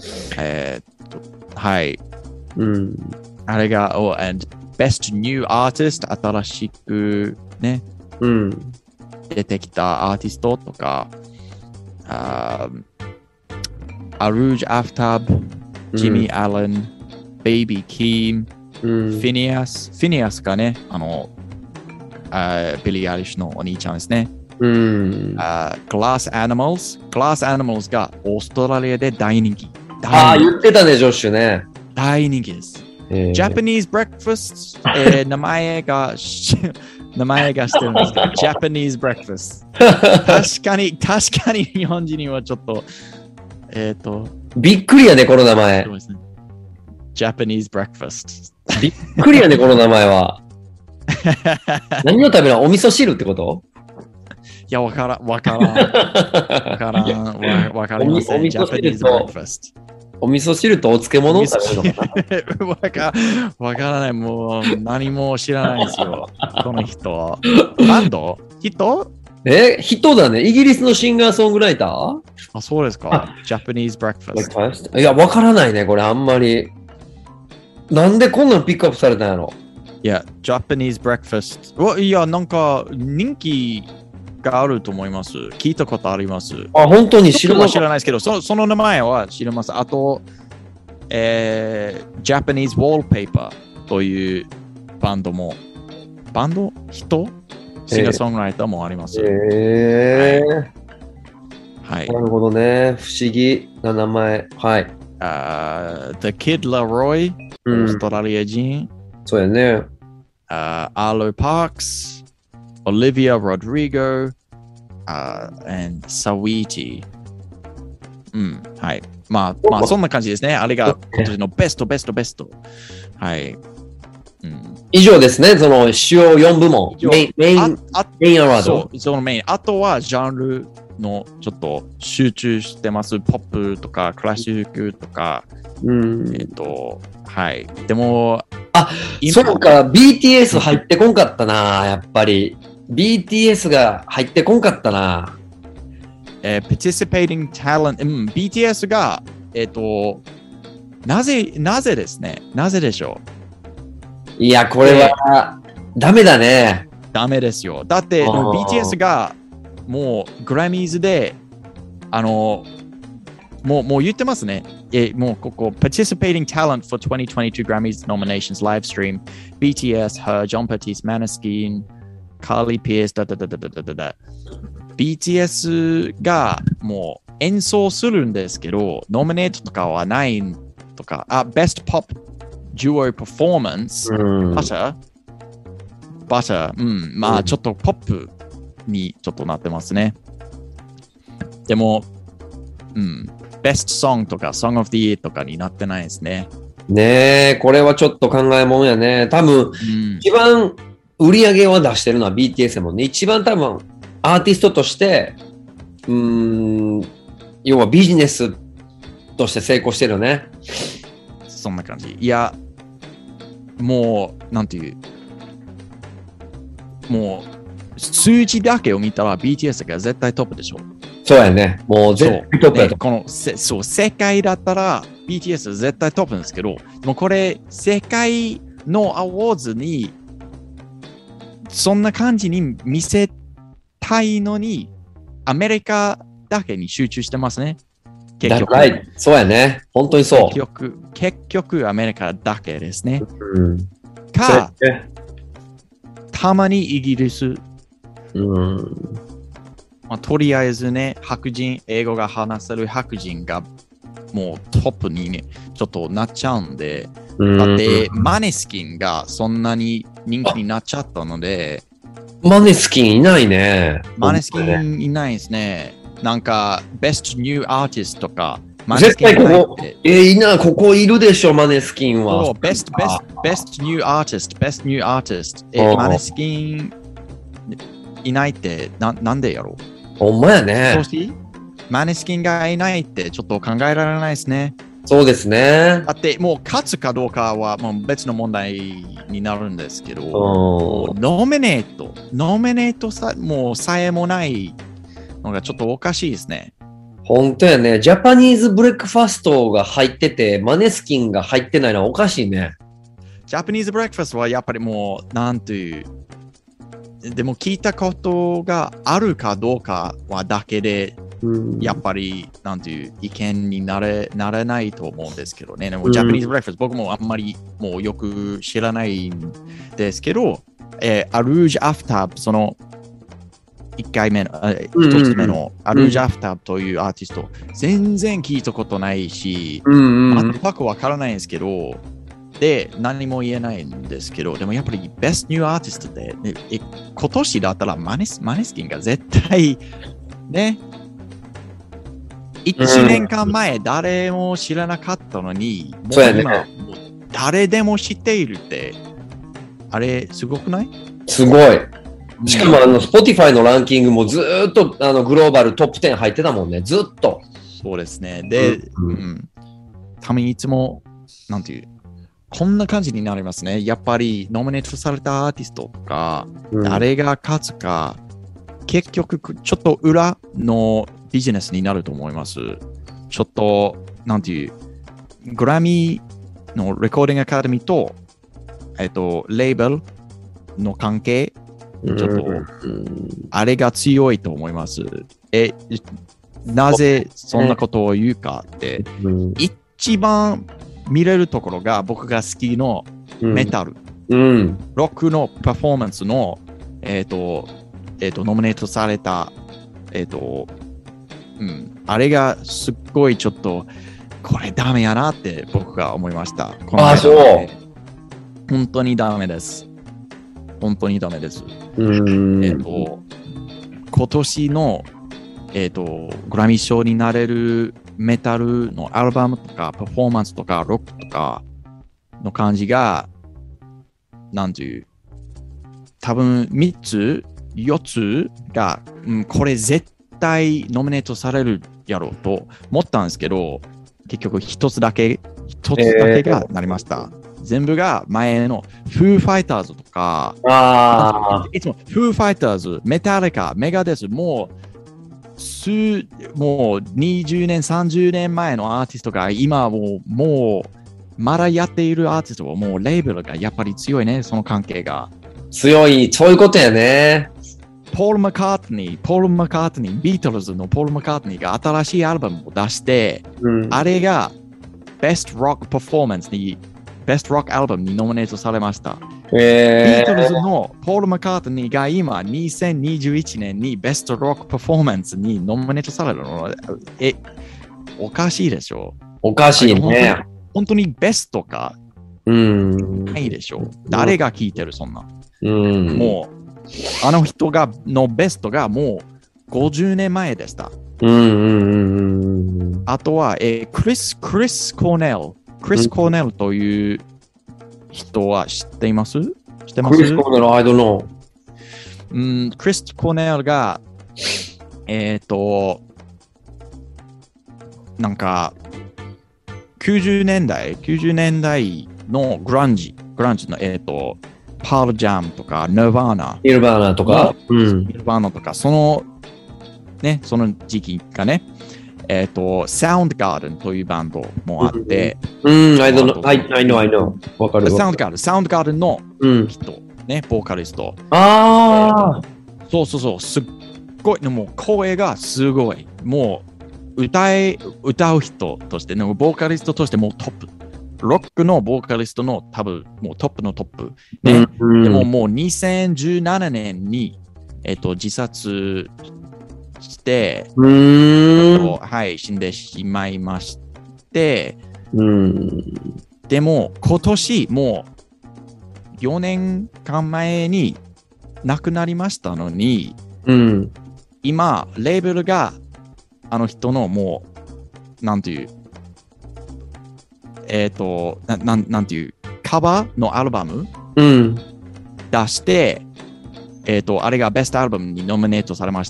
はい。あれが、and Best New Artist 新しくね、出てきたアーティストとか、Arooj Aftab、Jimmy Allen、Baby Keem、Phineas がね、ビリー・アリッシュのお兄ちゃんですね。Glass Animals がオーストラリアで大人気。 言ってたね、ジョッシュね。 大人気です。Japanese Breakfast、名前がしてるんですけど、Japanese Breakfast。確かに日本人にはちょっと、 びっくりやね、この名前。 Japanese Breakfast。 びっくりやね、この名前は。何を食べるの？お味噌汁ってこと？ いや、わからん。わかりません。Japanese Breakfast。 お味噌汁とお漬物を食べるのかな？ わからない。もう何も知らないですよ。この人。バンド？人だね。イギリスのシンガーソングライター？ そうですか。Japanese Breakfast。 いや、わからないね、これあんまり。なんでこんなのピックアップされたんやろ？ いや、Japanese Breakfast。いや、なんか人気があると思います。聞いたことあります。 本当に知らないですけど、その名前は知ります。あと、Japanese Wallpaper というバンド人シンガーソングライターもあります。はい。 なるほどね。不思議な名前。はい。 The Kid Laroi、オーストラリア人。 そうやね。 Arlo Parks、Olivia Rodrigo、and Saweetie。はい。まあ、そんな感じですね。あれが今年のベスト。はい。 以上ですね。その主要4部門。メインアワード。 そのメイン。あとはジャンルのちょっと集中してます。ポップとかクラシックとか。はい。でも、 そうか、BTS 入ってこんかったな、やっぱり。BTS が入ってこんかったな。 participating talent、BTS が、なぜですね。なぜでしょう。いや、これは、ダメだね。 ダメですよ。だって、BTS が、もう、グラミーズで、もう言ってますね。もうここ、participating talent for 2022 Grammys nominations live stream, BTS, Her, John Batiste, Maneskin, カーリー・ピアス、BTS がもう演奏するんですけど、ノミネートとかはないとか、Best Pop Duo Performance、バター、まあちょっとポップにちょっとなってますね。でも、Best Song とか Song of the Year とかになってないですね。 ねえ、これはちょっと考えもんやね。多分、一番売り上げを出してるのは BTS やもんね。一番多分、アーティストとして、要はビジネスとして成功してるよね。 そんな感じ。いや、もう、なんていう、もう、数字だけを見たら BTS が絶対トップでしょ。 そうやね。もう絶対トップやと。 この世界だったら BTS 絶対トップなんですけど、もうこれ、世界のアワーズに、そんな感じに見せたいのに、アメリカだけに集中してますね。結局。 そうやね。本当にそう。 結局アメリカだけですね。たまにイギリス。とりあえずね、白人、英語が話せる白人がもうトップにね、ちょっとなっちゃうんで、だってマネスキンがそんなに人気になっちゃったので、 マネスキンいないね。 マネスキンいないですね。なんか、Best New Artist とか、 絶対ここ、ここいるでしょ、マネスキンは。 Best New Artist。マネスキンいないってなんでやろう。 ほんまやね。 マネスキンがいないってちょっと考えられないですね。 そうですね。 だってもう勝つかどうかはもう別の問題になるんですけど、ノミネートもうさえもないのがちょっとおかしいですね。 本当やね。ジャパニーズブレックファストが入ってて、マネスキンが入ってないのはおかしいね。 ジャパニーズブレックファストはやっぱりもう、なんという、でも聞いたことがあるかどうかはだけで、やっぱり、なんていう意見になれないと思うんですけどね。でもジャパニーズブレックファスト、僕もあんまりもうよく知らないんですけど、アルージュ・アフター、その、1回目の、1つ目のアルージャ・アフターというアーティスト、全然聞いたことないし、全くわからないんですけど、で、何も言えないんですけど、でもやっぱりベストニューアーティストで、今年だったらマネスキンが絶対、ね、1年間前誰も知らなかったのに、もう今、誰でも知っているって、あれ、すごくない？ すごい。しかもSpotify のランキングもずーっとグローバルトップ10入ってたもんね、ずっと。 そうですね。で、ためにいつも、なんていう、こんな感じになりますね。やっぱりノミネートされたアーティストとか、誰が勝つか、結局ちょっと裏のビジネスになると思います。ちょっと、なんていう、グラミーのレコーディングアカデミーと、レーベルの関係、ちょっと、あれが強いと思います。なぜそんなことを言うかって、一番見れるところが僕が好きのメタル、ロックのパフォーマンスの、ノミネートされた、あれがすっごいちょっと、これダメやなって僕が思いました。 そう。 本当にダメです。本当にダメです。今年の、グラミー賞になれるメタルのアルバムとかパフォーマンスとかロックとかの感じが、なんていう、多分3つ、4つが、これ絶対ノミネートされるやろうと思ったんですけど、結局1つだけがなりました。全部が前のフーファイターズとか、いつもフーファイターズ、メタリカ、メガデス、もう20年、30年前のアーティストが今もうまだやっているアーティストはもうレーベルがやっぱり強いね、その関係が。 強い、そういうことやね。 ポール・マカートニー、ビートルズのポール・マカートニーが新しいアルバムを出して、あれがベストロックパフォーマンスにベストロックアルバムにノミネートされました。 ートルズのポール・マッカートニーが今2021年にベストロックパフォーマンスにノミネートされるのおかしいでしょ。 おかしいね。 本当にベストかないでしょ。誰が聞いてるそんな。もうあの人のベストがもう50年前でした。あとは、クリス・コーネル。クリス・コーネルという人は知っています？知ってます？ クリス・コーネル、I don't know。 クリス・コーネルが、なんか、90年代のグランジの、パールジャムとか、ニルバーナとか、その時期がね、サウンドガーデンというバンドもあって、 I know。わかる。 サウンドガーデンの人、ね、ボーカリスト。そう、すっごい、もう声がすごい。もう歌う人として、ボーカリストとしてもうトップ。ロックのボーカリストの多分もうトップのトップ。ね、でももう2017年に、自殺して、はい、死んでしまいまして、でも今年もう4年間前に亡くなりましたのに、今レーベルがあの人のもうなんていうなんていうカバーのアルバム、出して、あれがベストアルバムにノミネートされました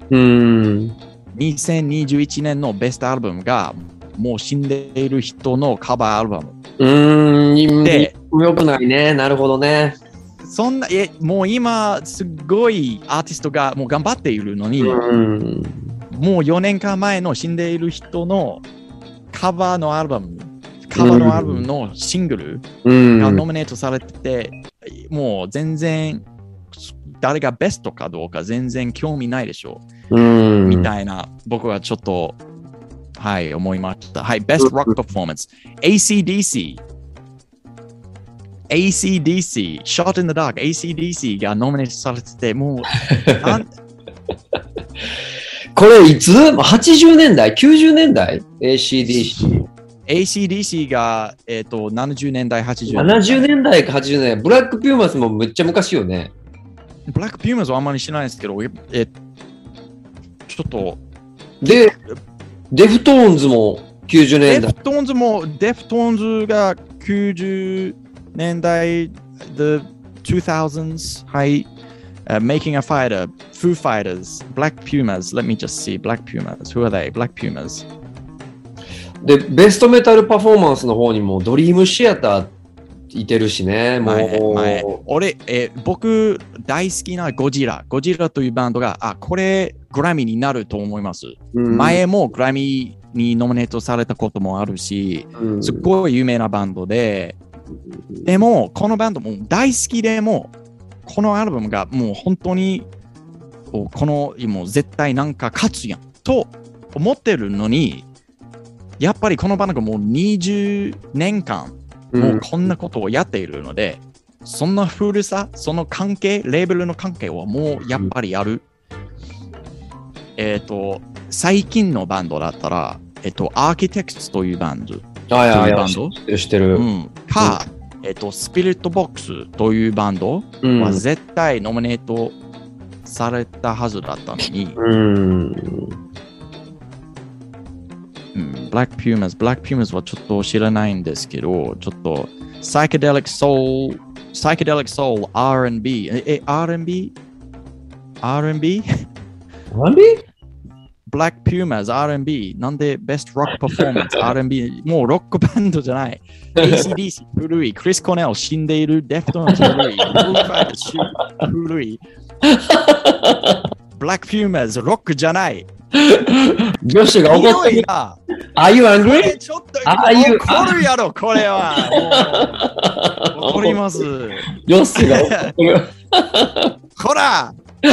。2021年のベストアルバムがもう死んでいる人のカバーアルバム。 で、よくないね。なるほどね。 そんな、もう今すごいアーティストがもう頑張っているのに、もう4年間前の死んでいる人のカバーのアルバムのシングルがノミネートされてて、もう全然誰がベストかどうか全然興味ないでしょみたいな、僕はちょっとはい思いました。はい、ベストロックパフォーマンス ACDC Shot in the Dark ACDC がノミネートされてて、もうこれいつ ?80 年代 ?90 年代 ?ACDC が、70年代、80 年代。70年代か80年代。ブラックピューマスもめっちゃ昔よね。 ブラックピューマスはあんまり知らないですけど、ちょっと。 で、デフトーンズも90年代。 デフトーンズが90年代、The 2000s、はい。Making a Fighter, Foo Fighters, Black Pumas. Let me just see. Black Pumas. Who are they? Black Pumas. で、ベストメタルパフォーマンスの方にもドリームシアターいてるしね。 僕大好きなゴジラというバンドが、これグラミーになると思います。前もグラミーにノミネートされたこともあるし、すっごい有名なバンドで、でもこのバンドも大好きでも、このアルバムがもう本当にもう絶対なんか勝つやんと思ってるのに、やっぱりこのバンドがもう20年間もうこんなことをやっているので、そんな古さ、その関係、レーベルの関係はもうやっぱりある。最近のバンドだったら、アーキテクツというバンド。知ってる。 か、スピリットボックスというバンドは絶対ノミネートされたはずだったのに、ブラックピューマスはちょっと知らないんですけど、ちょっとサイケデリックソウル R&B R&B Black Pumas R&B なんでベストロックパフォーマンス R&B もうロックバンドじゃない ACDC 古いクリス・コネル死んでいるデフトーンズ古い古いBlack Pumas ロックじゃない女子が怒ってる。Are you angry? ちょっと怒るやろこれは怒ります。 女子が怒ってる。 こら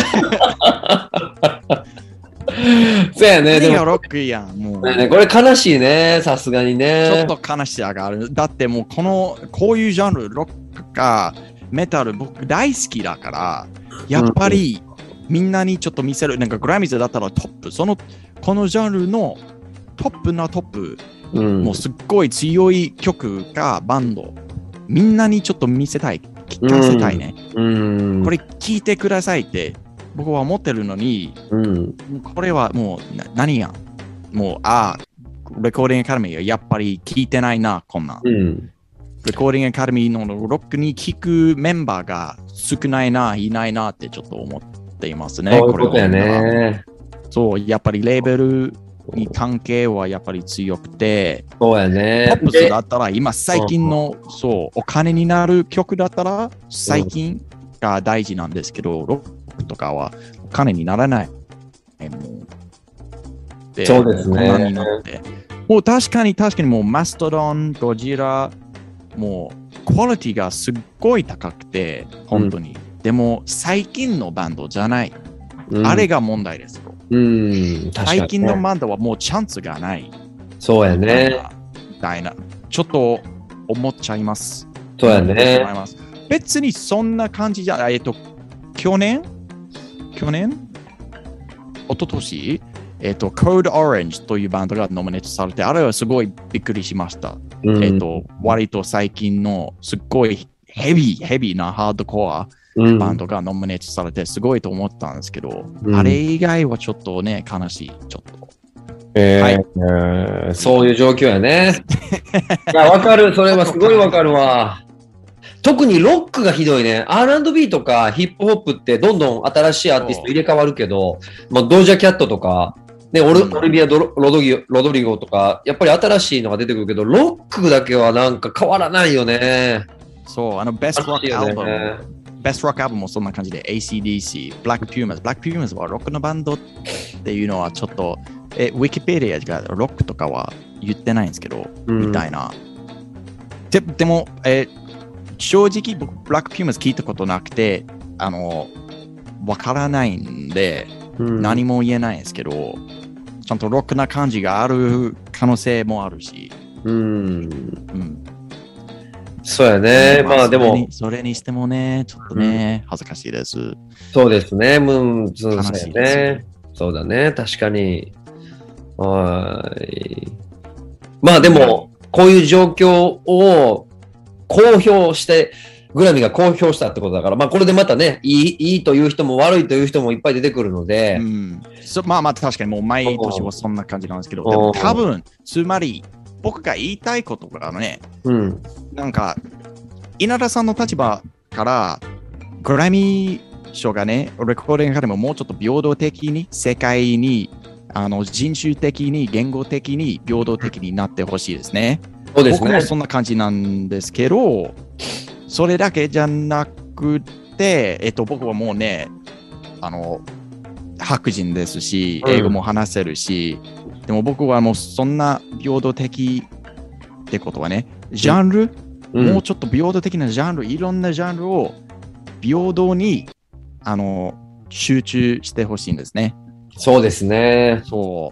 そうやね。 でもロックやん。もうね、これ悲しいね。さすがにね。 ちょっと悲しさがある。だってもうこういうジャンル、ロックかメタル僕大好きだから、やっぱりみんなにちょっと見せる、なんかグラミーズだったらトップ、このジャンルのトップなトップ、もうすっごい強い曲がバンド、みんなにちょっと見せたい、聞かせたいね。これ聞いてくださいって僕は思ってるのに、これはもう何や、もうレコーディングアカデミーはやっぱり聞いてないな、こんなん。レコーディングアカデミーのロックに聞くメンバーが少ないな、いないなってちょっと思っていますね。 そういうことやね。 そう、やっぱりレーベルに関係はやっぱり強くて、 そうやね。 ポップスだったら今最近の、そう、お金になる曲だったら最近が大事なんですけど、ロックとかはお金にならない。もうそうですね。 もう確かにもうマストドン、ゴジラ、もうクオリティがすっごい高くて、本当に。でも最近のバンドじゃない。あれが問題ですよ。最近のバンドはもうチャンスがない。 そうやね。 ちょっと思っちゃいます。 そうやね。 別にそんな感じじゃ、去年一昨年Code Orange というバンドがノミネートされて、あれはすごいびっくりしました。割と最近のすっごいヘビーなハードコアバンドがノミネートされてすごいと思ったんですけど、あれ以外はちょっとね、悲しい。ちょっと。 そういう状況やね。いや、わかる。それはすごいわかるわ。特にロックがひどいね。R&B とかヒップホップってどんどん新しいアーティスト入れ替わるけど、ドージャキャットとか、ね、オリビア・ロドリゴとか、やっぱり新しいのが出てくるけど、ロックだけはなんか変わらないよね。 そう、ベストロックアルバム。ベストロックアルバムもそんな感じで ACDC、Black Pumas はロックのバンドっていうのはちょっと、ウィキペディアがロックとかは言ってないんですけど、みたいな。でも、正直僕、Black Pumas 聞いたことなくて、わからないんで、何も言えないんですけど、ちゃんとロックな感じがある可能性もあるし。 そうやね。まあでも。 それにしてもね、ちょっとね、恥ずかしいです。 そうですね。そうですね。そうだね。確かに。はい。まあでも、こういう状況を公表して、グラミーが公表したってことだから、まあこれでまたね、いいという人も悪いという人もいっぱい出てくるので。 まあ確かにもう毎年はそんな感じなんですけど、でも多分、つまり僕が言いたいことがね、なんか、稲田さんの立場から、グラミー賞がね、レコーディングからももうちょっと平等的に、世界に、人種的に、言語的に、平等的になってほしいですね。 そうですね。 僕もそんな感じなんですけど、それだけじゃなくて、僕はもうね、白人ですし、英語も話せるし、でも僕はもうそんな平等的ってことはね、ジャンル、もうちょっと平等的なジャンル、いろんなジャンルを平等に集中してほしいんですね。 そうですね。 そう。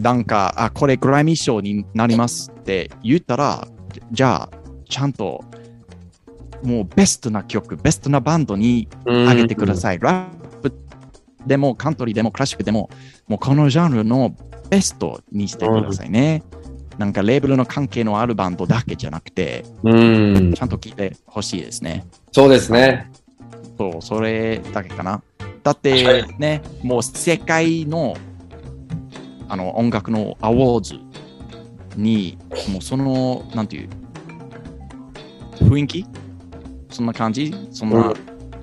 なんか、これグラミー賞になりますって言ったら、じゃあ、ちゃんともうベストな曲、ベストなバンドに上げてください。ラップでもカントリーでもクラシックでも、もうこのジャンルのベストにしてくださいね。なんかレーベルの関係のあるバンドだけじゃなくて、ちゃんと聴いてほしいですね。 そうですね。 そう、それだけかな。だってね、もう世界の音楽のアワーズに、もうその、なんていう、雰囲気そんな感じそんな、もう、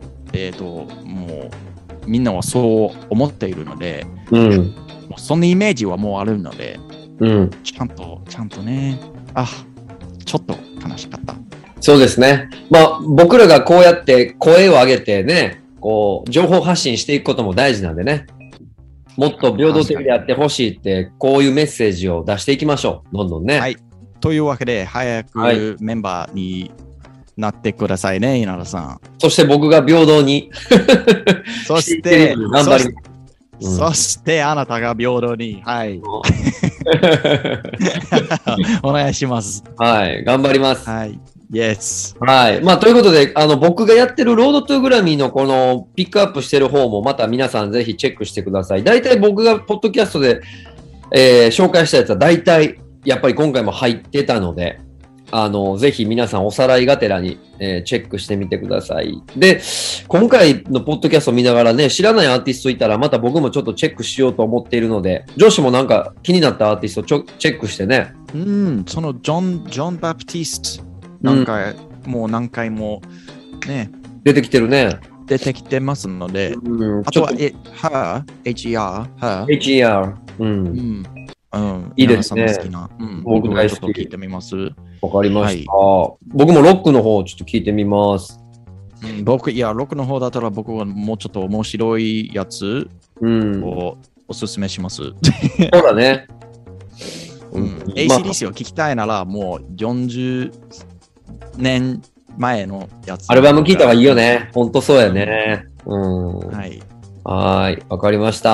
みんなはそう思っているので、もうそんなイメージはもうあるので、ちゃんとね、ちょっと悲しかった。 そうですね。まあ、僕らがこうやって声を上げてね、こう、情報発信していくことも大事なんでね。もっと平等的であってほしいって、こういうメッセージを出していきましょう。どんどんね。 はい。というわけで、早くメンバーになってくださいね、稲田さん。 そして僕が平等に。 そして、 頑張ります。 そしてあなたが平等に。はい。お願いします。 はい。頑張ります。 はい。 Yes. はい。まあ、ということで、僕がやってるロードトゥーグラミーのこのピックアップしてる方も、また皆さんぜひチェックしてください。大体僕がポッドキャストで、紹介したやつは大体、やっぱり今回も入ってたので、ぜひ皆さんおさらいがてらに、チェックしてみてください。で、今回のポッドキャストを見ながらね、知らないアーティストいたら、また僕もちょっとチェックしようと思っているので、上司もなんか気になったアーティストチェックしてね。 そのジョン・バプティスト、何回もね、 出てきてるね。 出てきてますので、あとは、HER。 いいですね。 僕大好き。聞いてみます。 わかりました。僕もロックの方ちょっと聞いてみます。 ロックの方だったら僕はもうちょっと面白いやつをおすすめします。 そうだね。 ACDC を聞きたいならもう40年前のやつ。 アルバム聞いた方がいいよね。ほんとそうやね。はい。わかりました。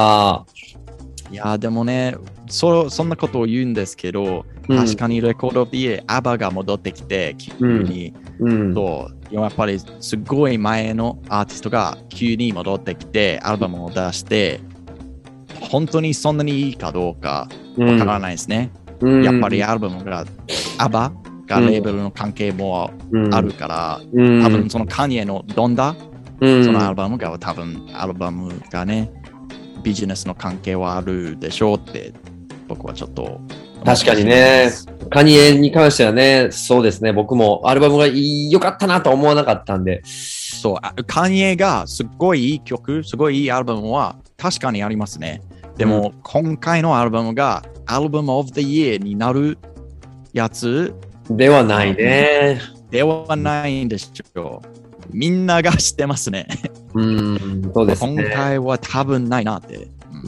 いや、でもね、そんなことを言うんですけど、確かにレコードオブイヤー、アバが戻ってきて、急に、やっぱりすごい前のアーティストが急に戻ってきて、アルバムを出して、本当にそんなにいいかどうかわからないですね。やっぱりアルバムが、アバがレーベルの関係もあるから、多分そのカニエのドンダ、そのアルバムが多分アルバムがね、ビジネスの関係はあるでしょうって僕はちょっと確かにね、カニエに関してはね、そうですね、僕もアルバムが良かったなとは思わなかったんで、 そうカニエがすごいいい曲、すごいいいアルバムは確かにありますね。でも、今回のアルバムがアルバムオブザイヤーになるやつではないね。 ではないんでしょう。みんなが知ってますね。 そうですね。 今回は多分ないなって。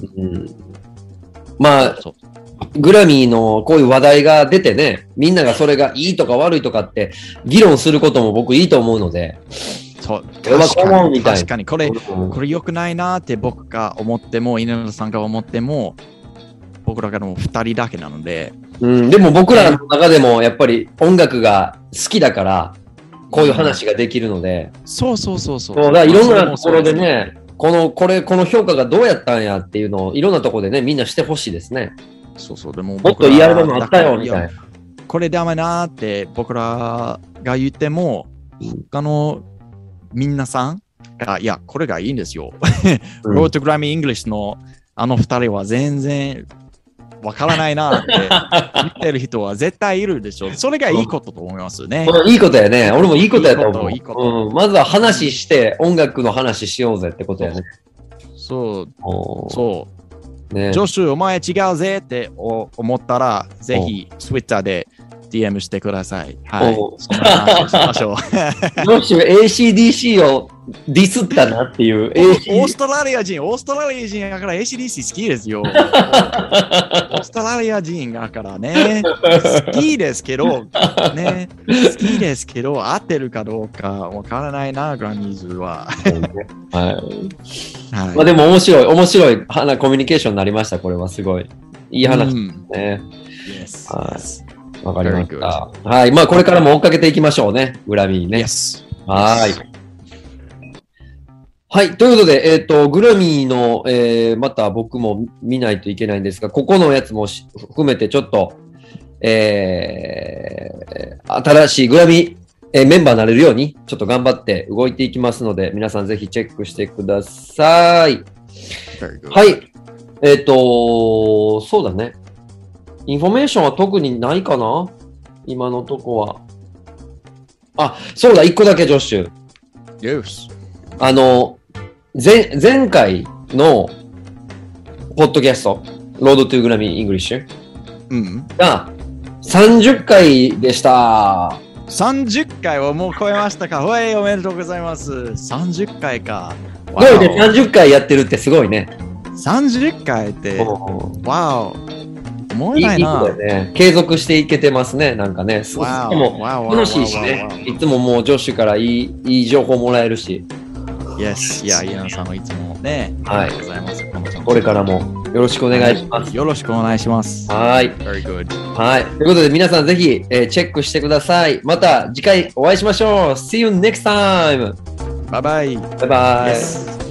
まあ、グラミーのこういう話題が出てね、みんながそれがいいとか悪いとかって議論することも僕いいと思うので。 そう確かにこれ良くないなって僕が思っても、稲田さんが思っても、僕らがもう2人だけなので。 でも僕らの中でもやっぱり音楽が好きだから、こういう話ができるので。 そう。 だからいろんなところでね、この評価がどうやったんやっていうのをいろんなところでね、みんなしてほしいですね。 でももっといいアルバムあったよみたいな。 これダメなって僕らが言っても、他の皆さんが、いや、これがいいんですよ。ロードグラミーイングリッシュのあの2人は全然わからないなって見てる人は絶対いるでしょ。それがいいことと思いますね。 いいことやね。俺もいいことやと思う。まずは話して、音楽の話しようぜってことやね。 そう。ね、ジョシュ、お前違うぜって思ったら、ぜひ、Twitter で DM してください。はい。そんな話しましょう。 ジョシュ、ACDC をディスったなっていう。 オーストラリア人だから ACDC 好きですよ。オーストラリア人だからね。好きですけど、合ってるかどうかわからないな、グラミーズは。 まあでも面白いコミュニケーションになりました。これはすごい。いい話ですね。わかりました。はい。まあこれからも追っかけていきましょうね。グラミーね。はい。はい。ということで、グラミーの、また僕も見ないといけないんですが、ここのやつも含めてちょっと、新しいグラミー、メンバーになれるように、ちょっと頑張って動いていきますので、皆さんぜひチェックしてください。はい。そうだね。インフォメーションは特にないかな？今のとこは。あ、そうだ、一個だけ、ジョッシュ。 Yes. 前回のポッドキャスト、ロードトゥーグラミーイングリッシュが30回でした。 30回をもう超えましたか。おめでとうございます。30回か。 すごいね、30回やってるってすごいね。 30回って、わお。思えないな。 いいね。継続していけてますね、なんかね。でも楽しいしね。いつももうジョッシュからいい情報もらえるし。 Yes。いや、イアンさんのいつもね。 はい。 ありがとうございます。 これからもよろしくお願いします。 よろしくお願いします。 はい。 Very good. はい。ということで、皆さんぜひ、チェックしてください。また次回お会いしましょう。See you next time! Bye bye. バイバイ。 Yes.